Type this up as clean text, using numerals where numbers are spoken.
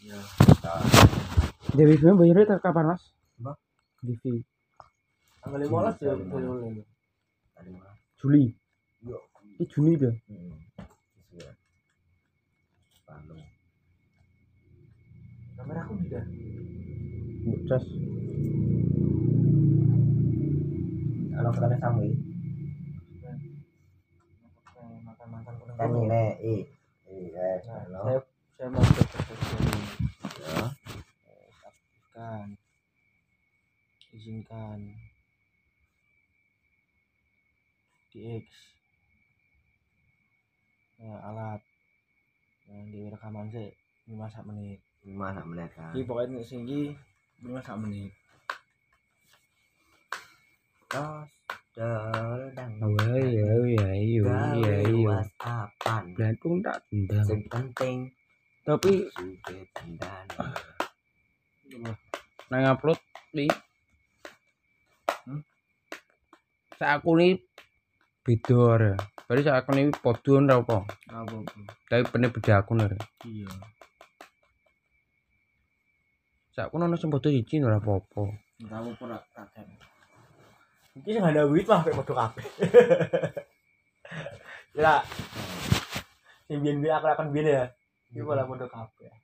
Ya. Dewi film bayarnya kapan Mas? Apa? TV. Tanggal 15 ya Juli. Yo. Ini Juni itu. Sesuai. Bandung. Kamera aku tidak. Cas. Kalau ketemu Samwi. Makan kan ini saya mau ya. Aktifkan. Izinkan. DX. Alat. Yang di rekaman sih 5 menit. 5 menit kan. Iki pokoknya singgi 5 menit. Terus dang. Iya. WhatsAppan. Blantung tak tendang. Sing penting Tapi sudah tendang. nang upload di sak aku ni beda ya. Berarti sak aku ni podon ra apa? Apa? Tapi bener beda akun ya. Iya. Sak aku ono sing foto siji ora apa-apa. Enggak apa ora kakek. Iki sing ada duit mah pek padha kabeh. Ya. Sing biyen aku akan biyen ya. Iki malah padha kabeh.